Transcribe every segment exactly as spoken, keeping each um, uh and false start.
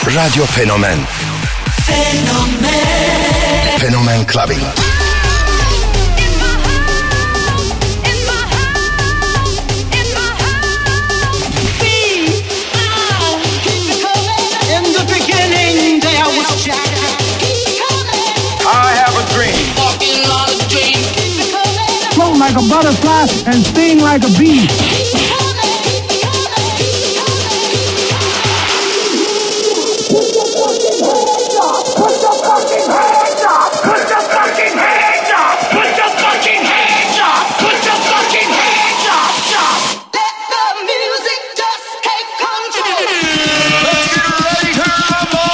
Radyo Fenomen. Fenomen. Fenomen Clubbing. Float like a butterfly and sting like a bee. Put the fucking hands up! Put the fucking hands up! Put the fucking hands up! Put the fucking hands up! Let the music just take control. Let's get ready to rumble!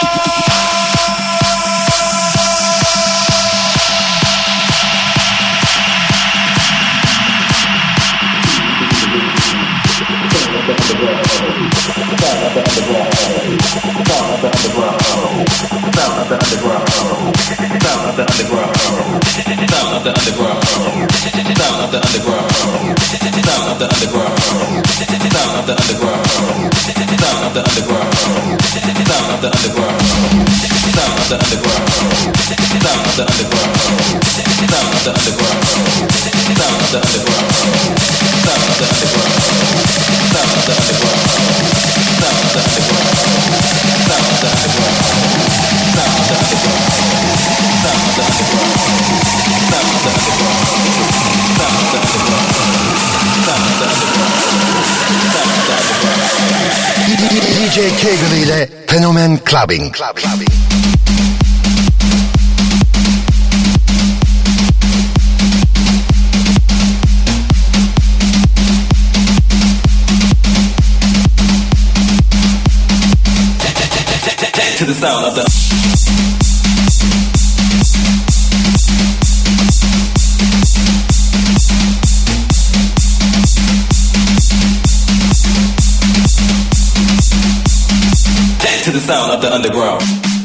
D J Kegel ile Fenomen Clubbing. Clubbing. To the sound of the to the sound of the underground.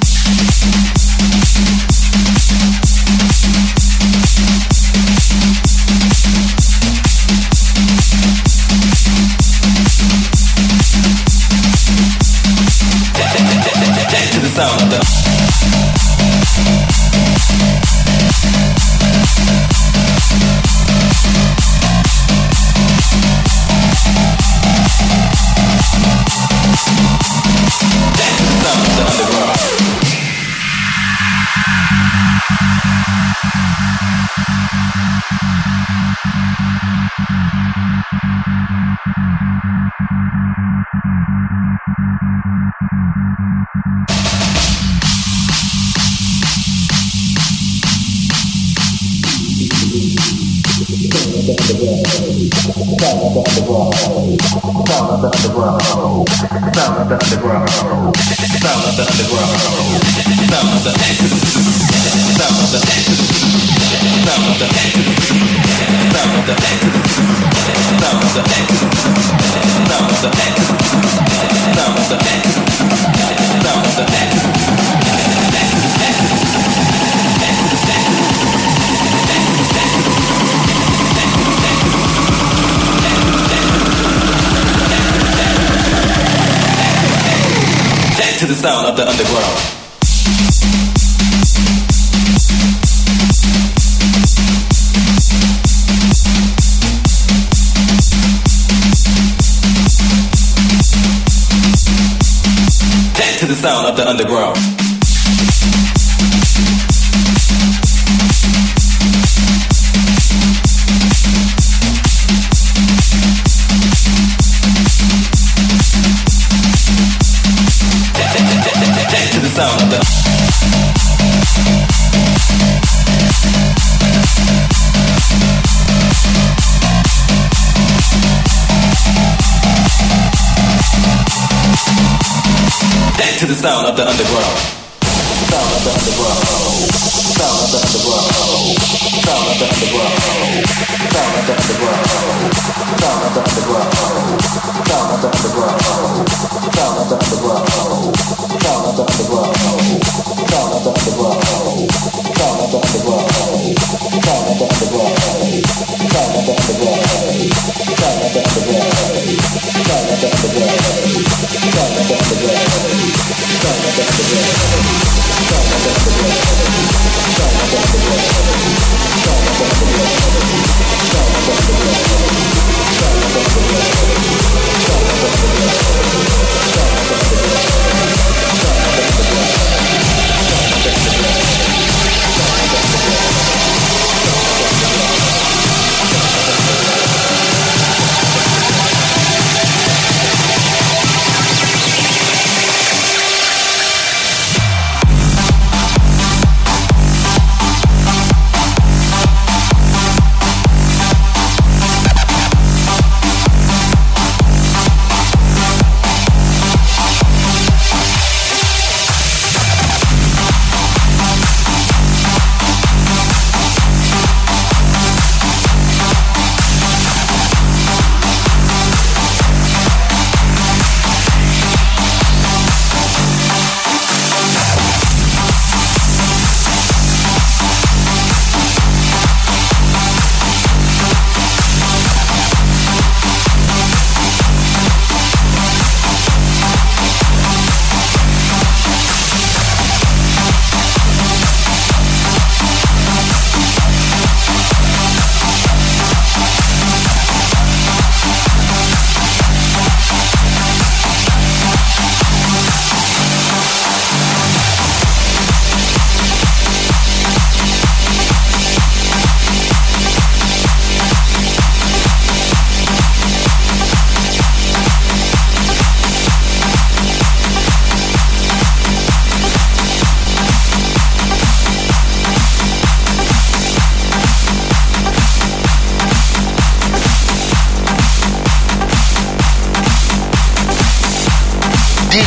To the sound of the to the sound of the underground. To the sound of the underground. To the sound of the to the sound of the underground. Sound of the underground. Sound of the underground. Sound of the underground. Sound of the underground. Sound of the underground. Sound of the underground. Sound of the underground. Sound of the underground. Sound of the underground. Sound of the underground. Sound of the underground. Sound of the underground. Sound of the underground. Sound of the underground. Sound of the underground. Sound of the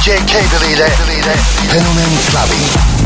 D J Cable ile Fenomen Clubbing.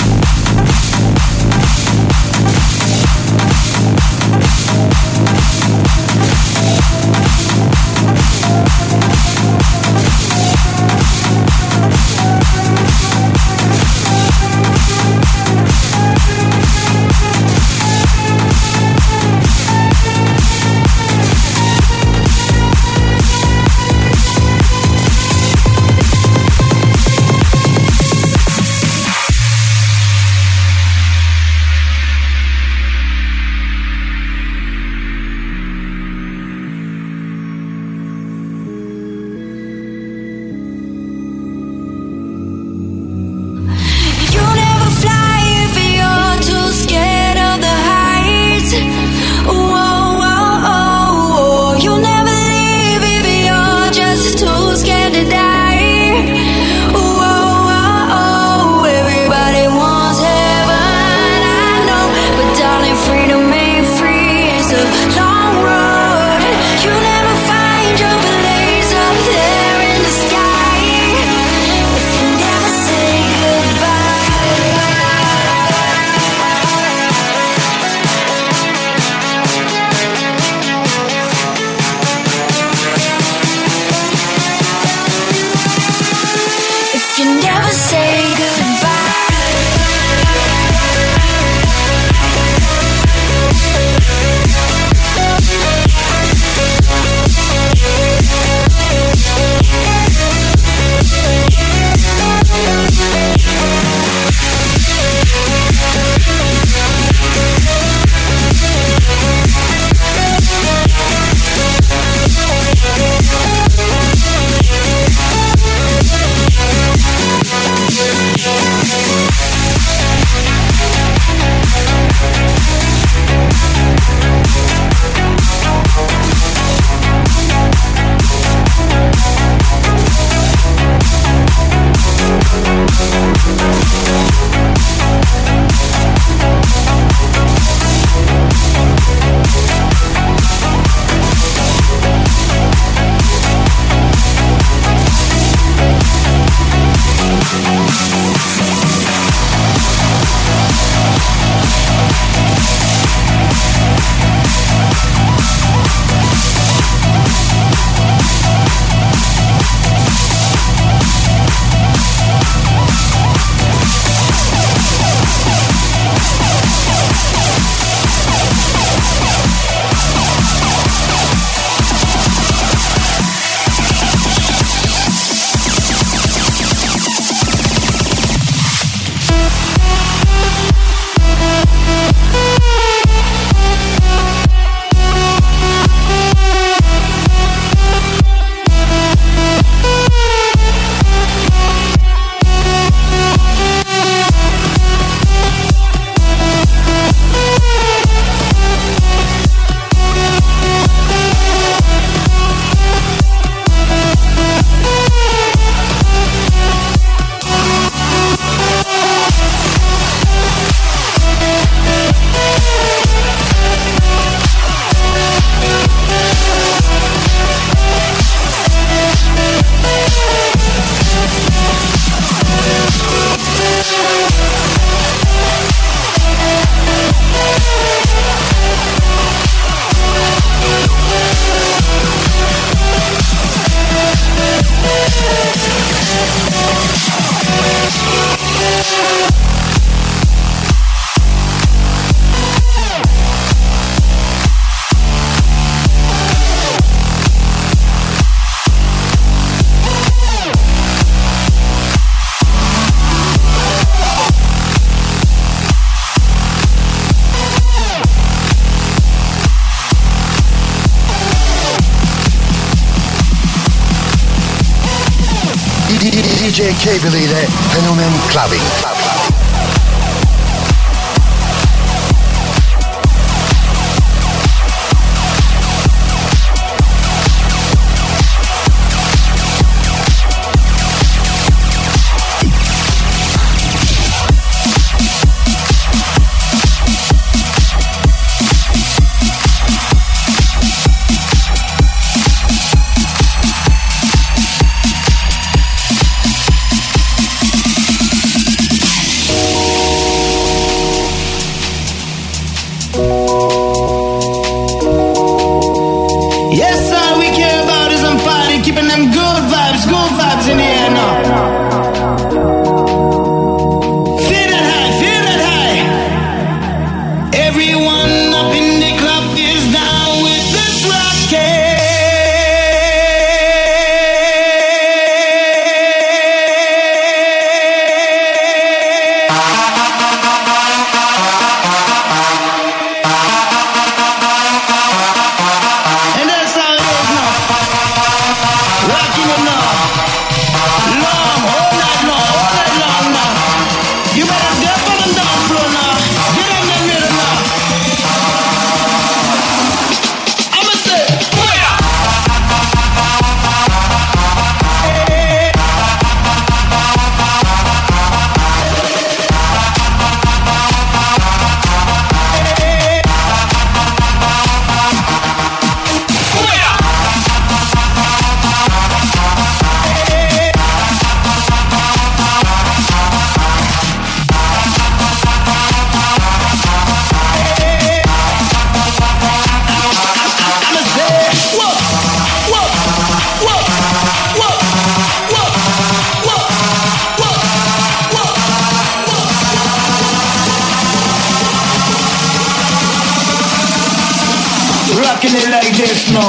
D J Cable ile Fenomen Clubbing. rocking it like this, no.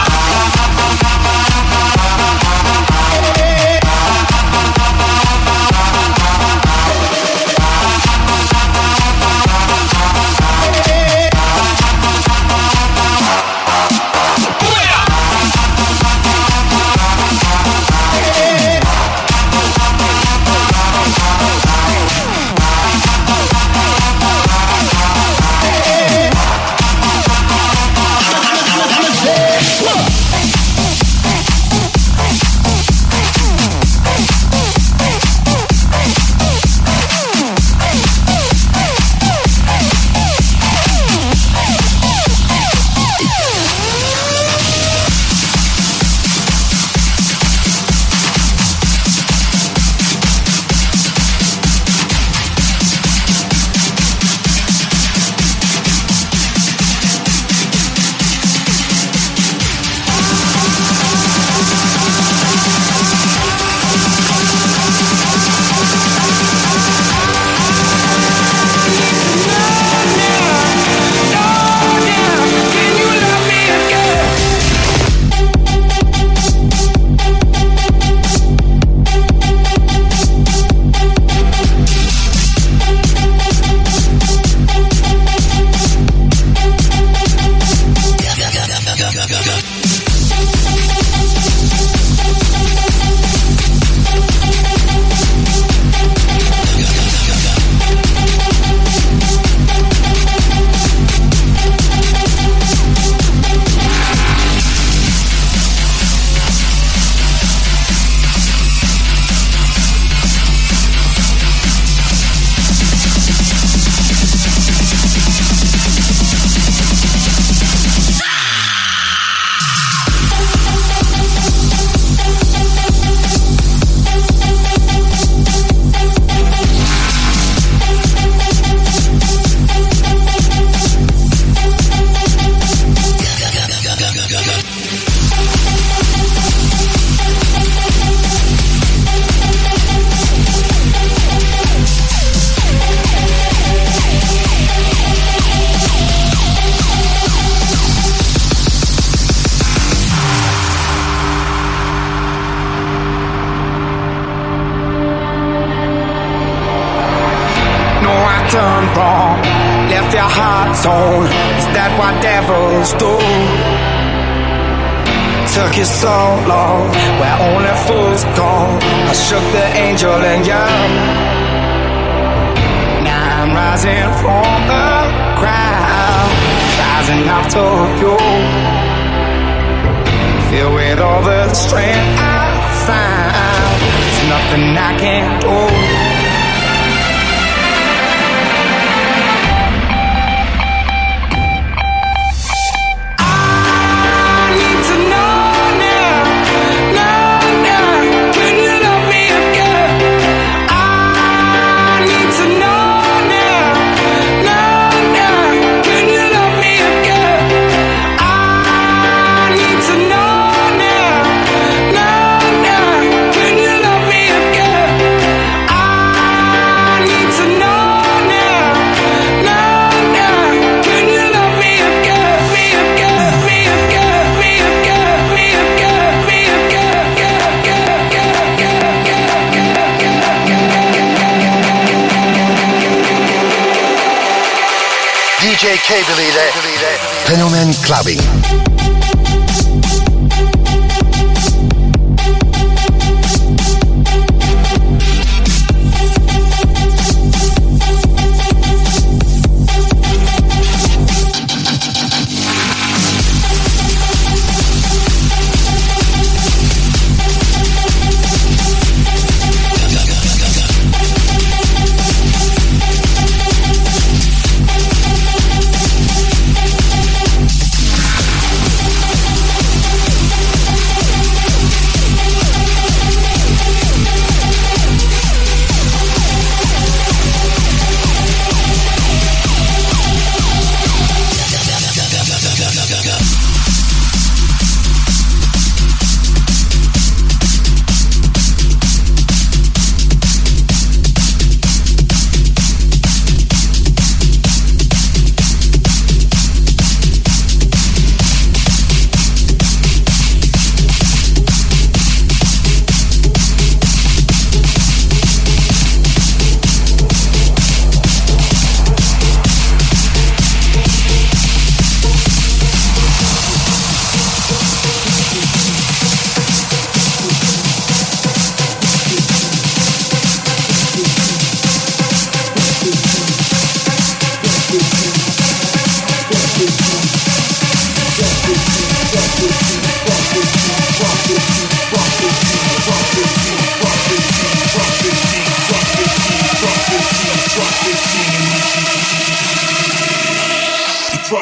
done wrong, left your heart torn. Is that what devils do? Took you so long, where only fools go. I shook the angel in you. Now I'm rising from the ground, rising up to you. Filled with all the strength I found, there's nothing I can't do. D J Cable ile Fenomen Clubbing.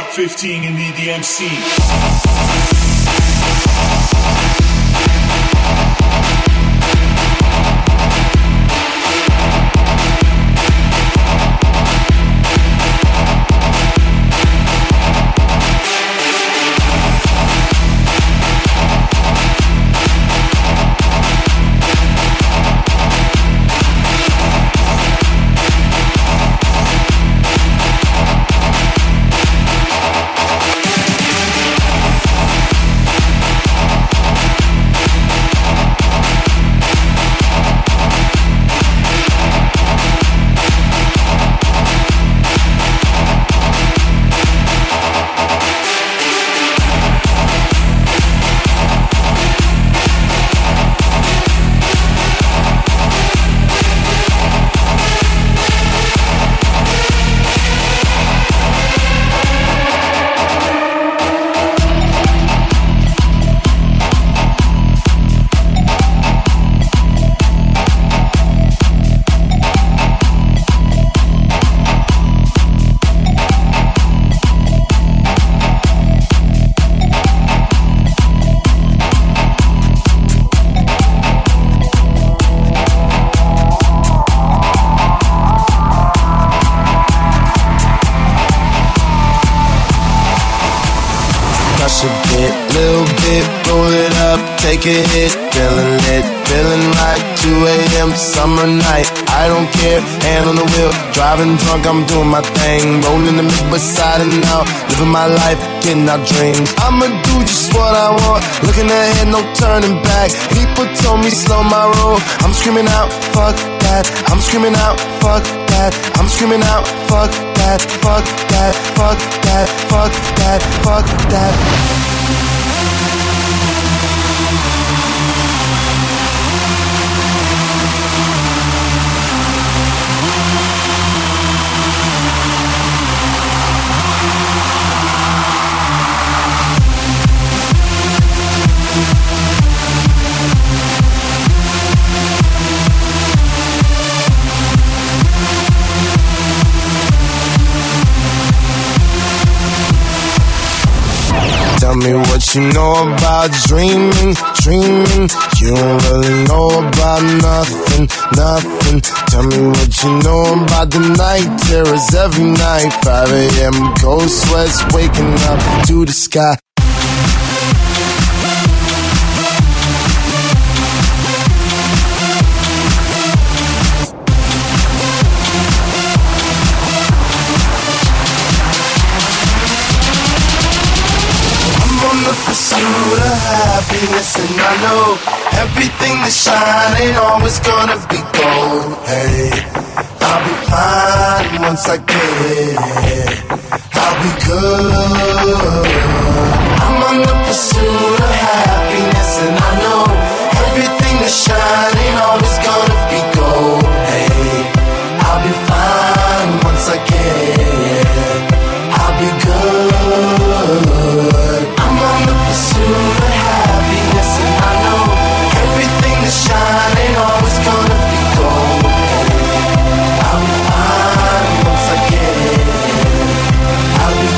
Top fifteen in the E D M scene. Take a hit, feeling lit, feeling like two a.m. summer night. I don't care, hand on the wheel, driving drunk, I'm doing my thing. Rolling the mid beside and out, living my life, getting out dreams. I'ma do just what I want, looking ahead, no turning back. People told me slow my roll, I'm screaming out, fuck that. I'm screaming out, fuck that. I'm screaming out, fuck that, fuck that, fuck that, fuck that, fuck that. Tell me what you know about dreaming, dreaming. You don't really know about nothing, nothing. Tell me what you know about the night terrors every night. five a.m. cold sweats waking up to the sky. Pursuit of happiness, and I know everything that shine ain't always gonna be gold. Hey, I'll be fine once I get it. I'll be good. I'm on the pursuit of happiness, and I know everything that shine ain't always gonna be gold. Hey, I'll be fine once I get it. I'll be good. Pursuit of happiness, and I know everything that shine ain't always gonna be gold. I'll be fine once I get it. I'll be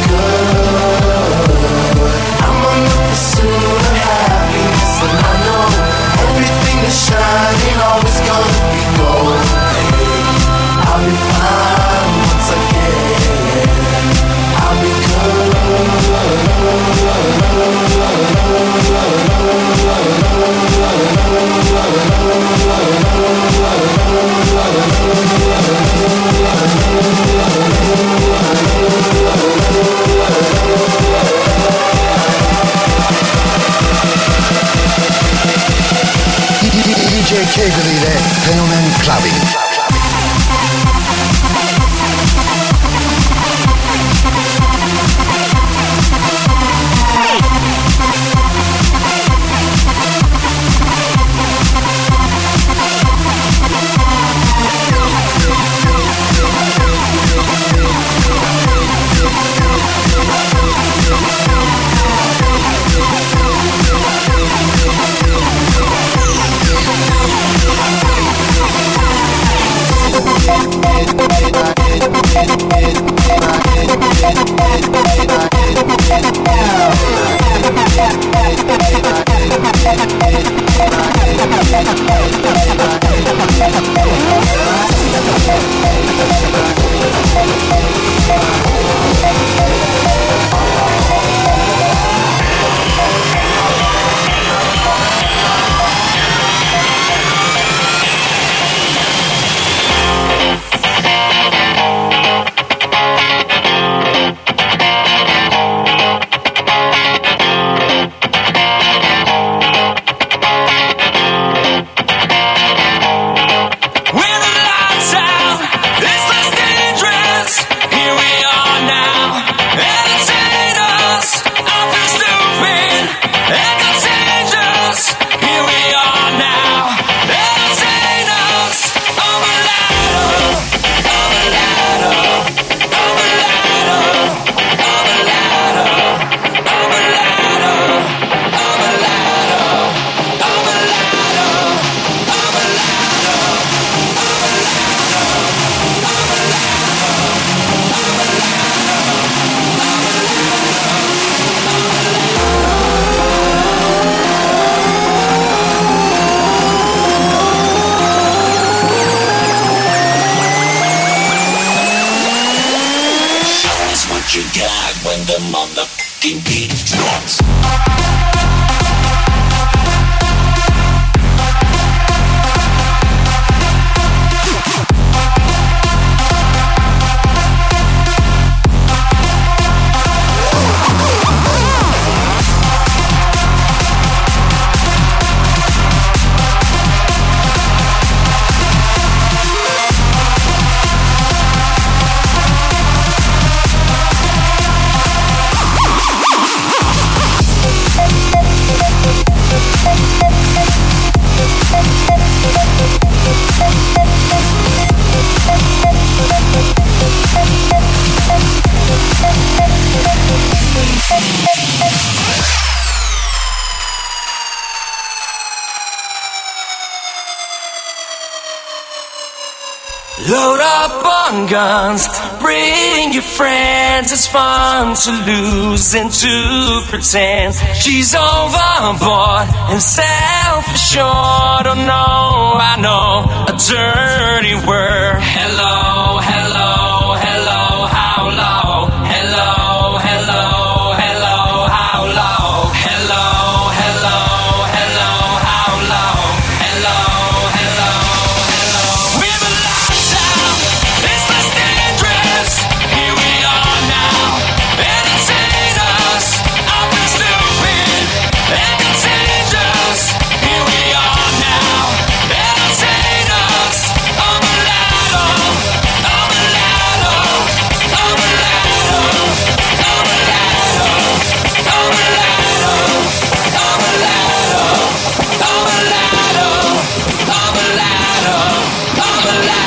good. I'm on the pursuit of happiness, and I know everything that shine ain't always gonna be gold. I'll be fine once I get it. I'll be good. D J Kegel ile Fenomen Clubbing. It, it, it, it, it, it, it, it, it, it, it, you got when the motherfucking beat drops. Load up on guns, bring your friends. It's fun to lose and to pretend. She's overboard and self-assured. Oh no, I know a dirty word. Hello, hello, hello, how low? Hello, hello, hello, how low? Hello, hello, hello, how low? Hello, hello, hello. We've been locked down. It's less dangerous. Here we are now. Entertain us. I've been stupid and contagious. Here we are now. Entertain us. I'm a ladder. I'm a ladder. I'm a ladder. I'm a ladder. I'm a ladder. I'm a ladder. I'm a ladder. I'm a ladder. I'm a ladder.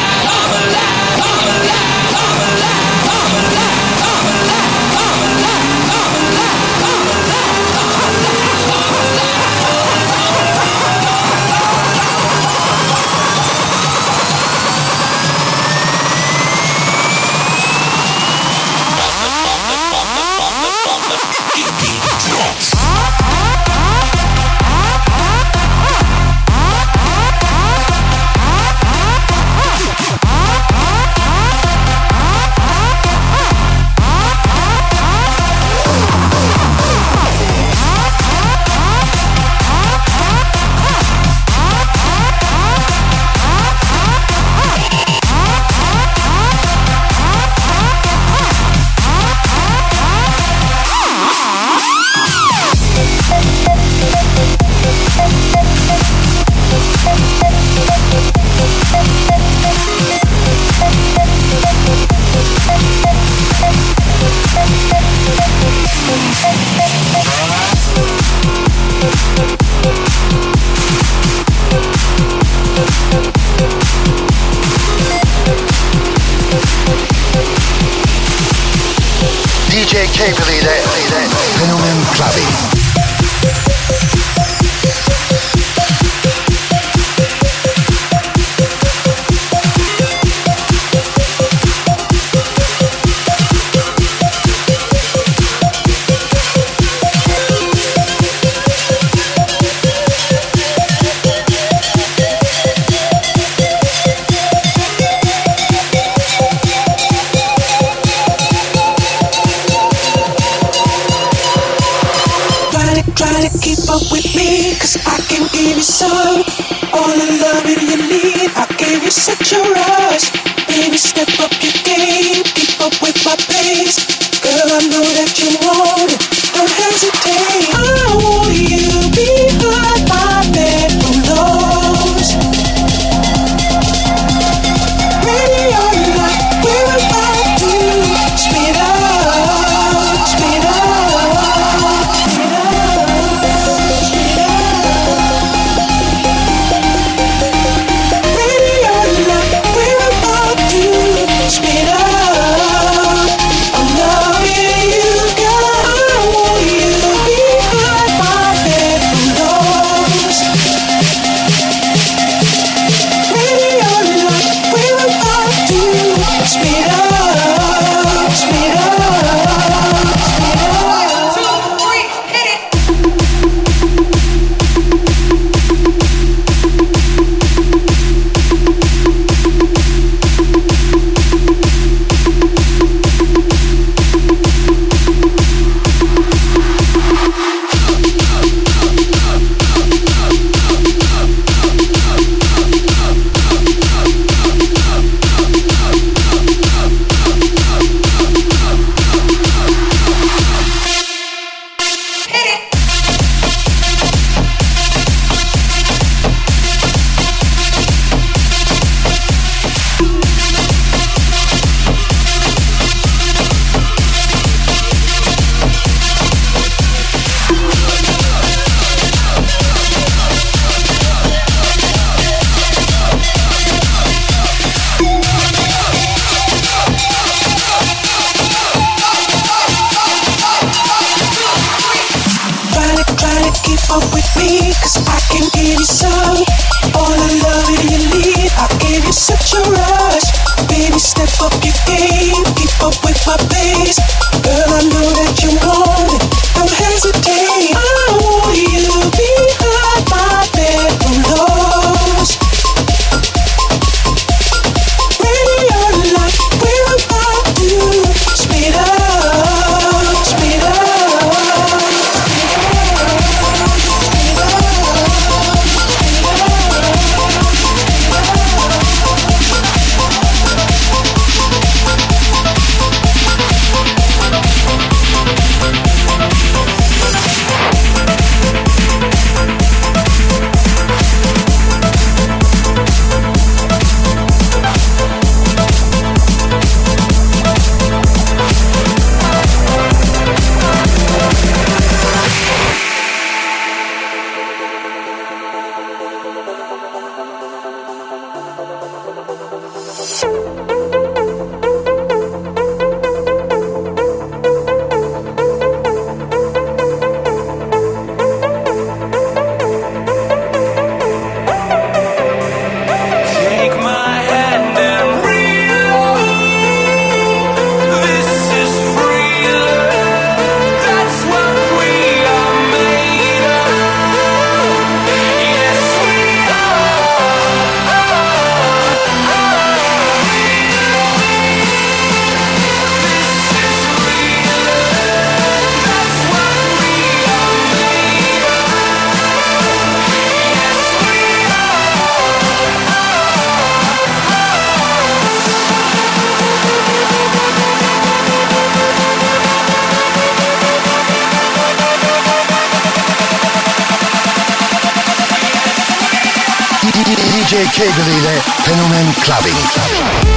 D J Cable ile Fenomen Clubbing. Try to keep up with me, cause I can give you some. All the loving you need, I gave you such a rush. Baby, step up your game, keep up with my pace. Girl, I know that you want it, don't hesitate. I want you behind my bedroom doors. Ready or not, we're about to speed up, speed up. Speed up, I'm loving you, girl. such a rush. Baby, step up your game, keep up with my pace. Girl, I know that you want it, don't hesitate. I want you behind my bedroom doors. Ready or not, we're about to speed up, speed up. D J Kegel ile Fenomen Clubbing.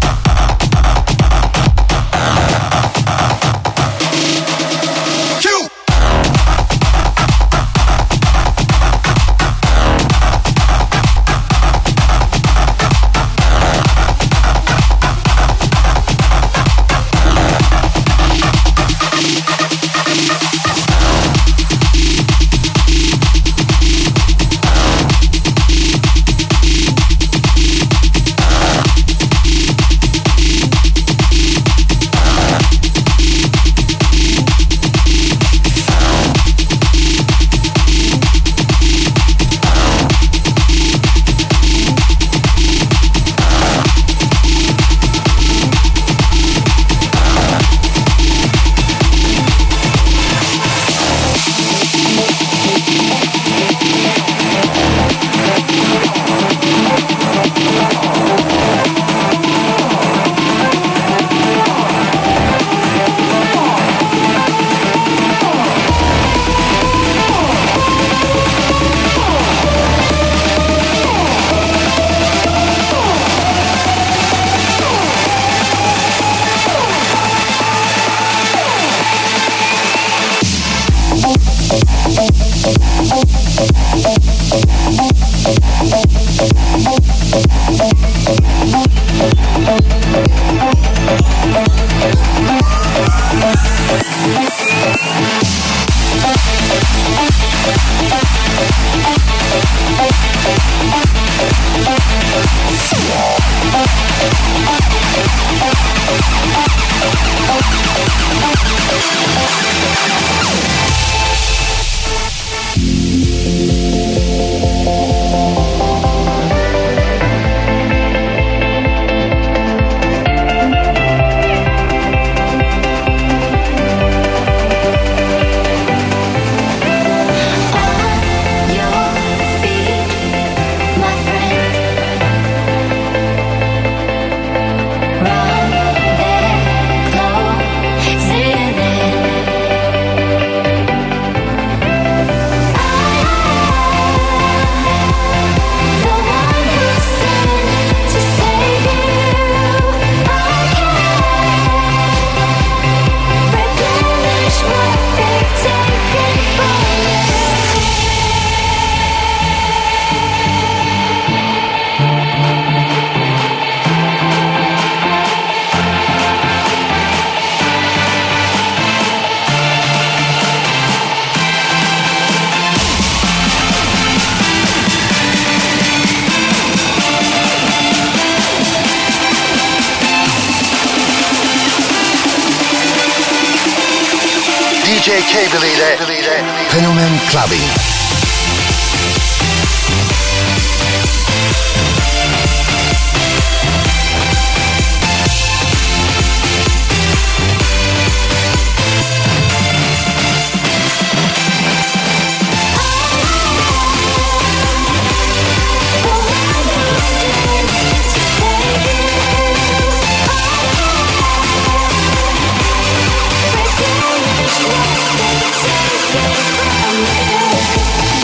Q. D J Cable ile Fenomen Clubbing. From you.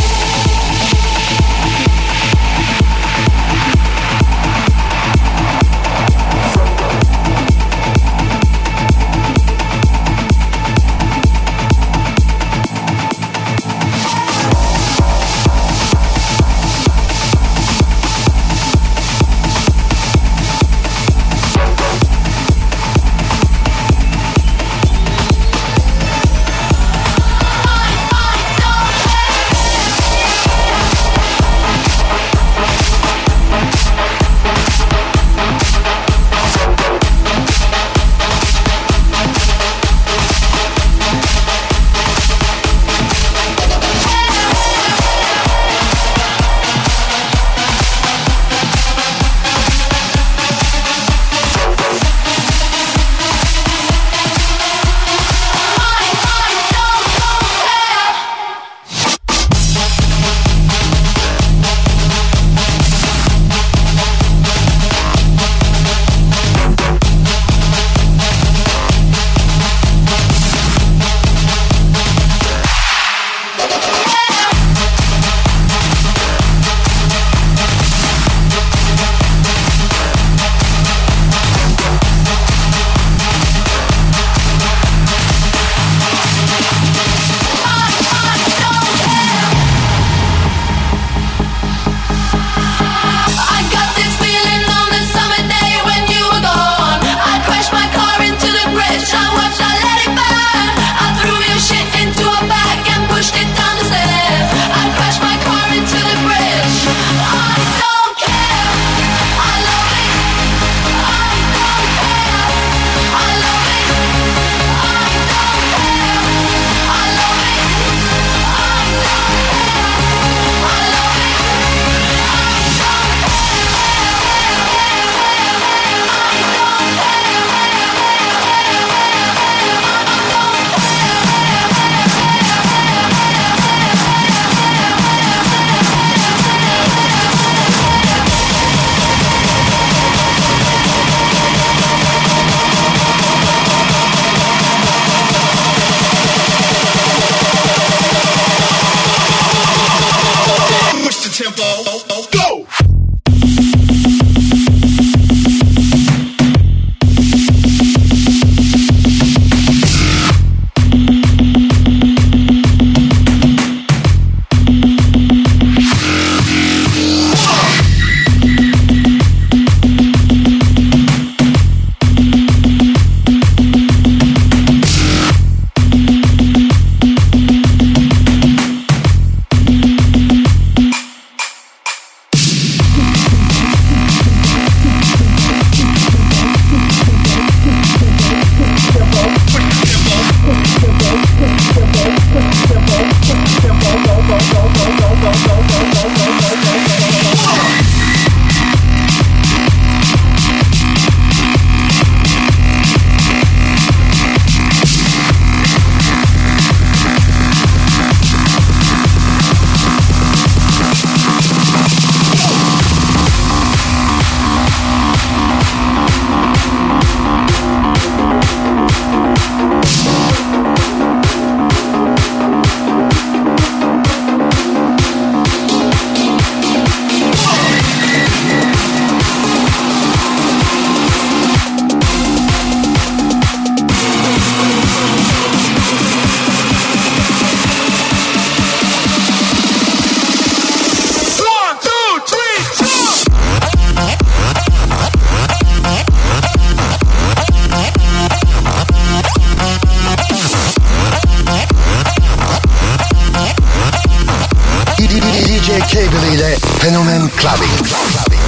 Fenomen Clubbing. Clubbing.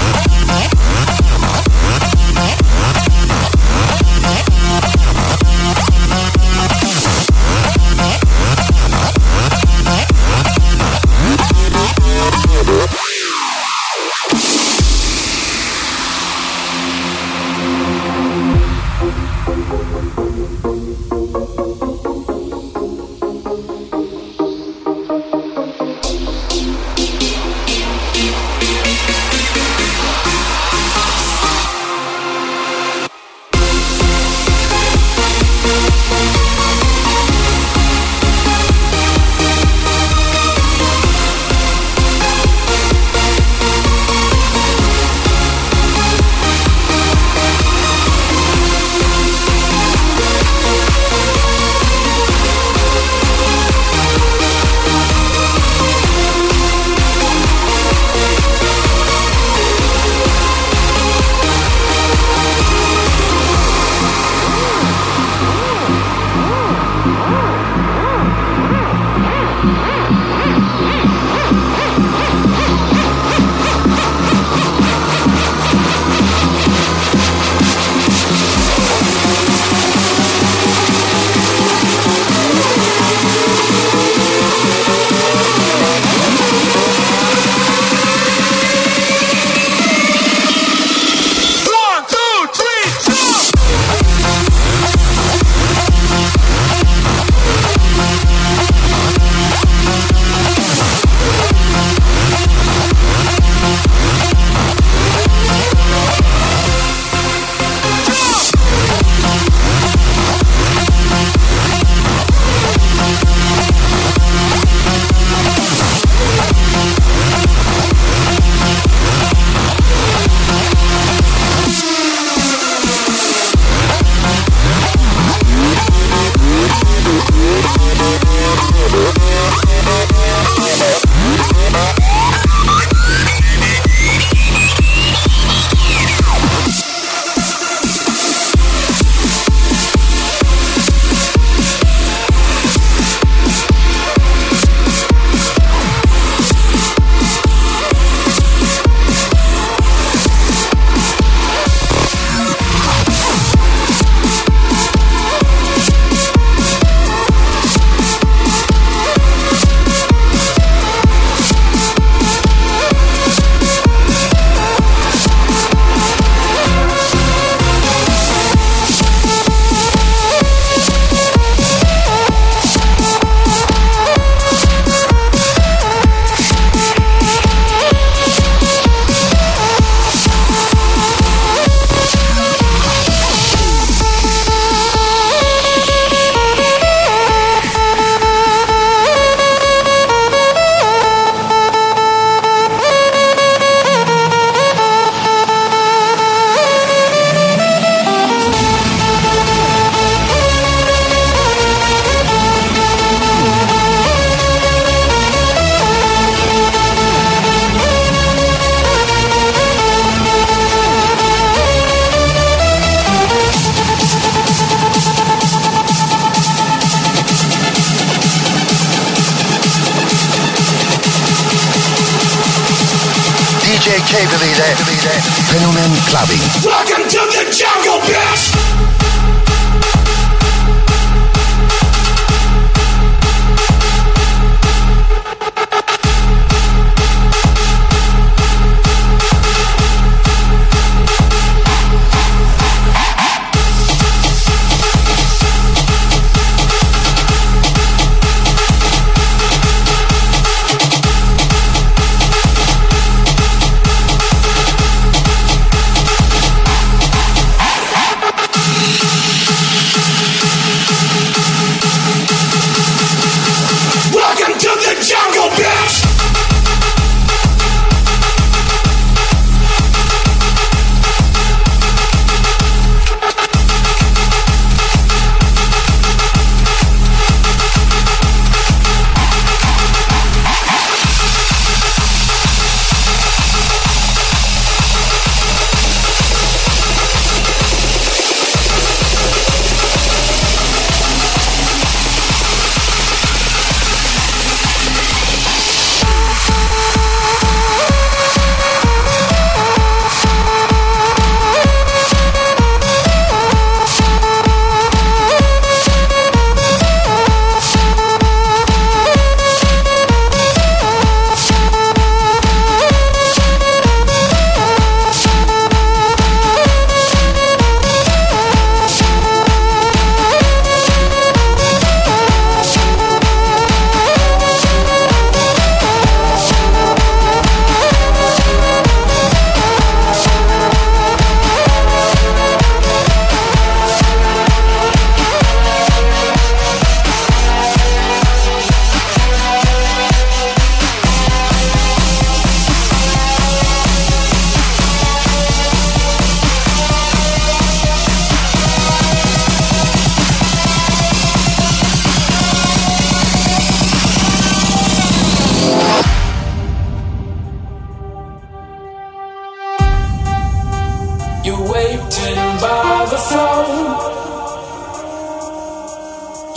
D J Cable ile Fenomen Clubbing. Welcome to the jungle, bitch!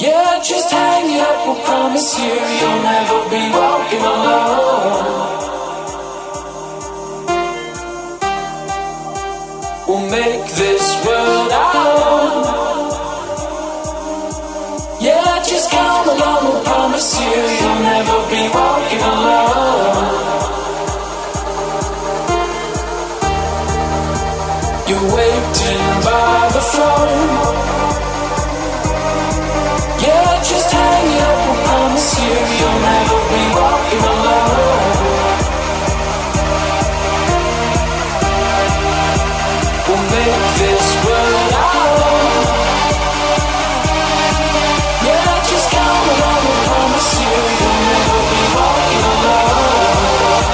Yeah, just hang it up, we'll promise you you'll never be walking alone. We'll make this world our own. Yeah, just come along, we'll promise you you'll never be walking alone. You're waiting by the phone. Yeah, just hang it up, we'll promise you you'll never be walking alone. We'll make this world our own. Yeah, just come along, we'll promise you you'll never be walking alone.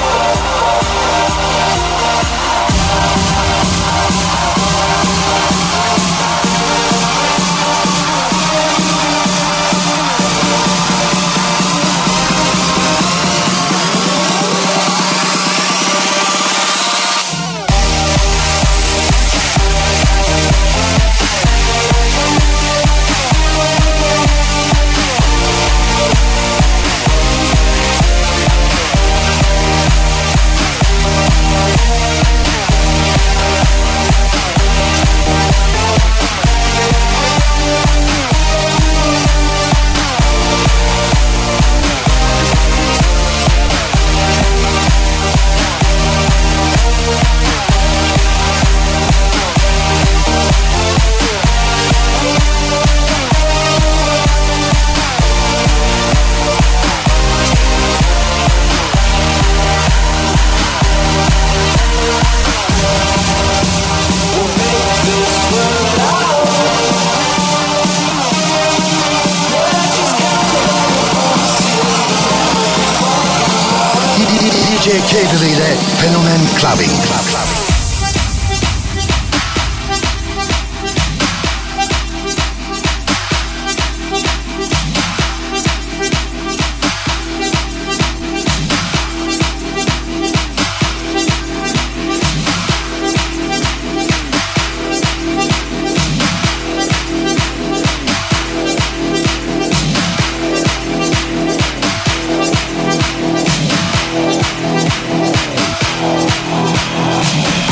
D J Kegel ile Fenomen Clubbing. We'll be right back.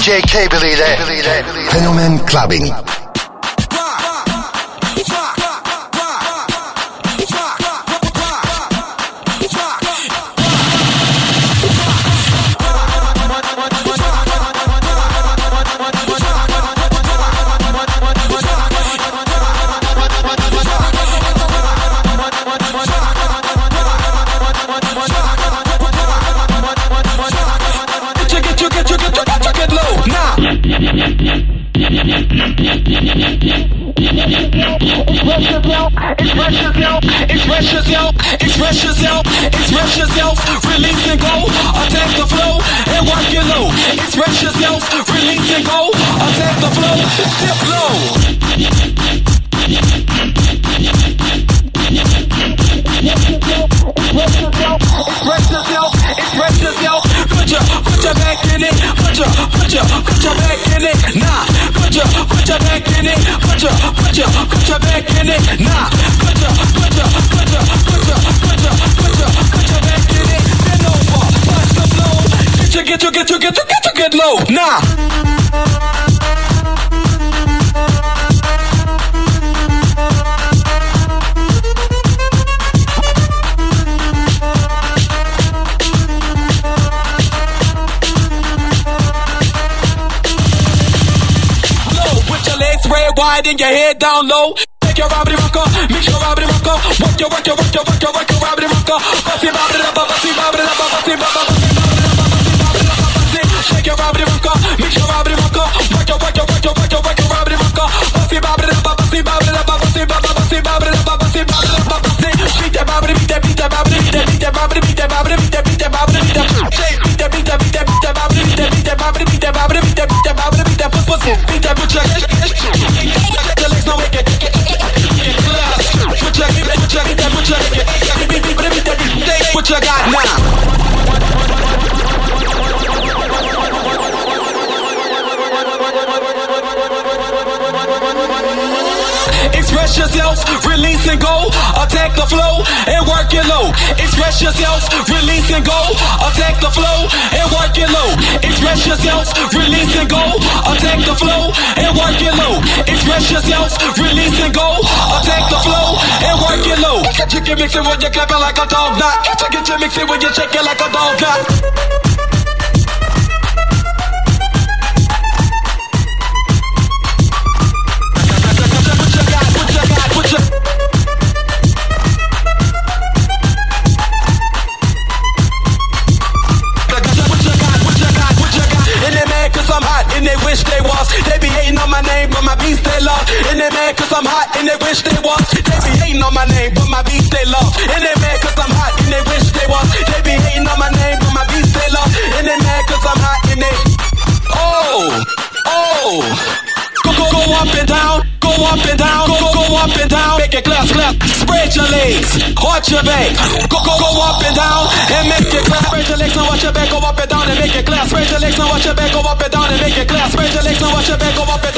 D J Cable ile Fenomen Clubbing. Express yourself, express yourself, express yourself, release and go, attack the flow and work it low. Express yourself, release and go, attack the flow, dip low. Express yourself, express yourself, express yourself, put your, put your back in it, put your, put your, put your back in it, nah, put your, put your back in it, put your, put your, put your back in it, nah, put your, put your, put your, put your, put your, put your, put your back in it, bend over, touch the flow, get your, get your, get your, get your, get your, get low, nah. Wide and your head down low. Take your Robbie Rocker, mix your Robbie Rocker. Work your, work your, work your, work your, work your Robbie Rocker. Bussy Robbie Rocker, bussy Robbie Rocker, bussy Robbie Rocker. Shake your Robbie Rocker, mix your Robbie Rocker. Work your, work your, work your, work your, work your Robbie Rocker. Bussy Robbie Rocker, bussy Robbie Rocker, bussy Robbie, bussy Robbie Rocker, bussy Robbie Rocker, bussy. Beat that Robbie, beat that, beat that Robbie, beat that, beat that Robbie, beat that Robbie, beat that, beat that Robbie, beat that. Beat that, beat that, beat that, beat that Robbie, beat that, beat that Robbie, beat that Robbie, beat that, beat that Robbie, beat that pussy, beat that put your. What you got now? Express yourself, release and go, attack the flow and work it low. Express yourself, release and go, attack the flow and work it low. Express yourself, release and go, attack the flow and work it low. Express yourself, release and go, attack the flow and work it low. You can mix it when you're clapping like a dog knot. You get you mix it when you're shaking like a dog knot. They was, they be hating on my name, but my beats they love. And they mad cause I'm hot, and they wish they was. They be hating on my name, but my beats they love. And they mad cause I'm hot, and they wish they was. They be hating on my name, but my beats they love. And they mad cause I'm hot, and they. Oh, oh. Go, go, go up and down, go up and down, go, go, go up and down. Make it clap, clap. Spread your legs, arch your back. Go, go, go up and down, and make it clap. Spread your legs and watch your back, go up and down and make it clap. Spread your legs and watch your back, go up and down and make it clap. Spread your legs and watch your back, go up and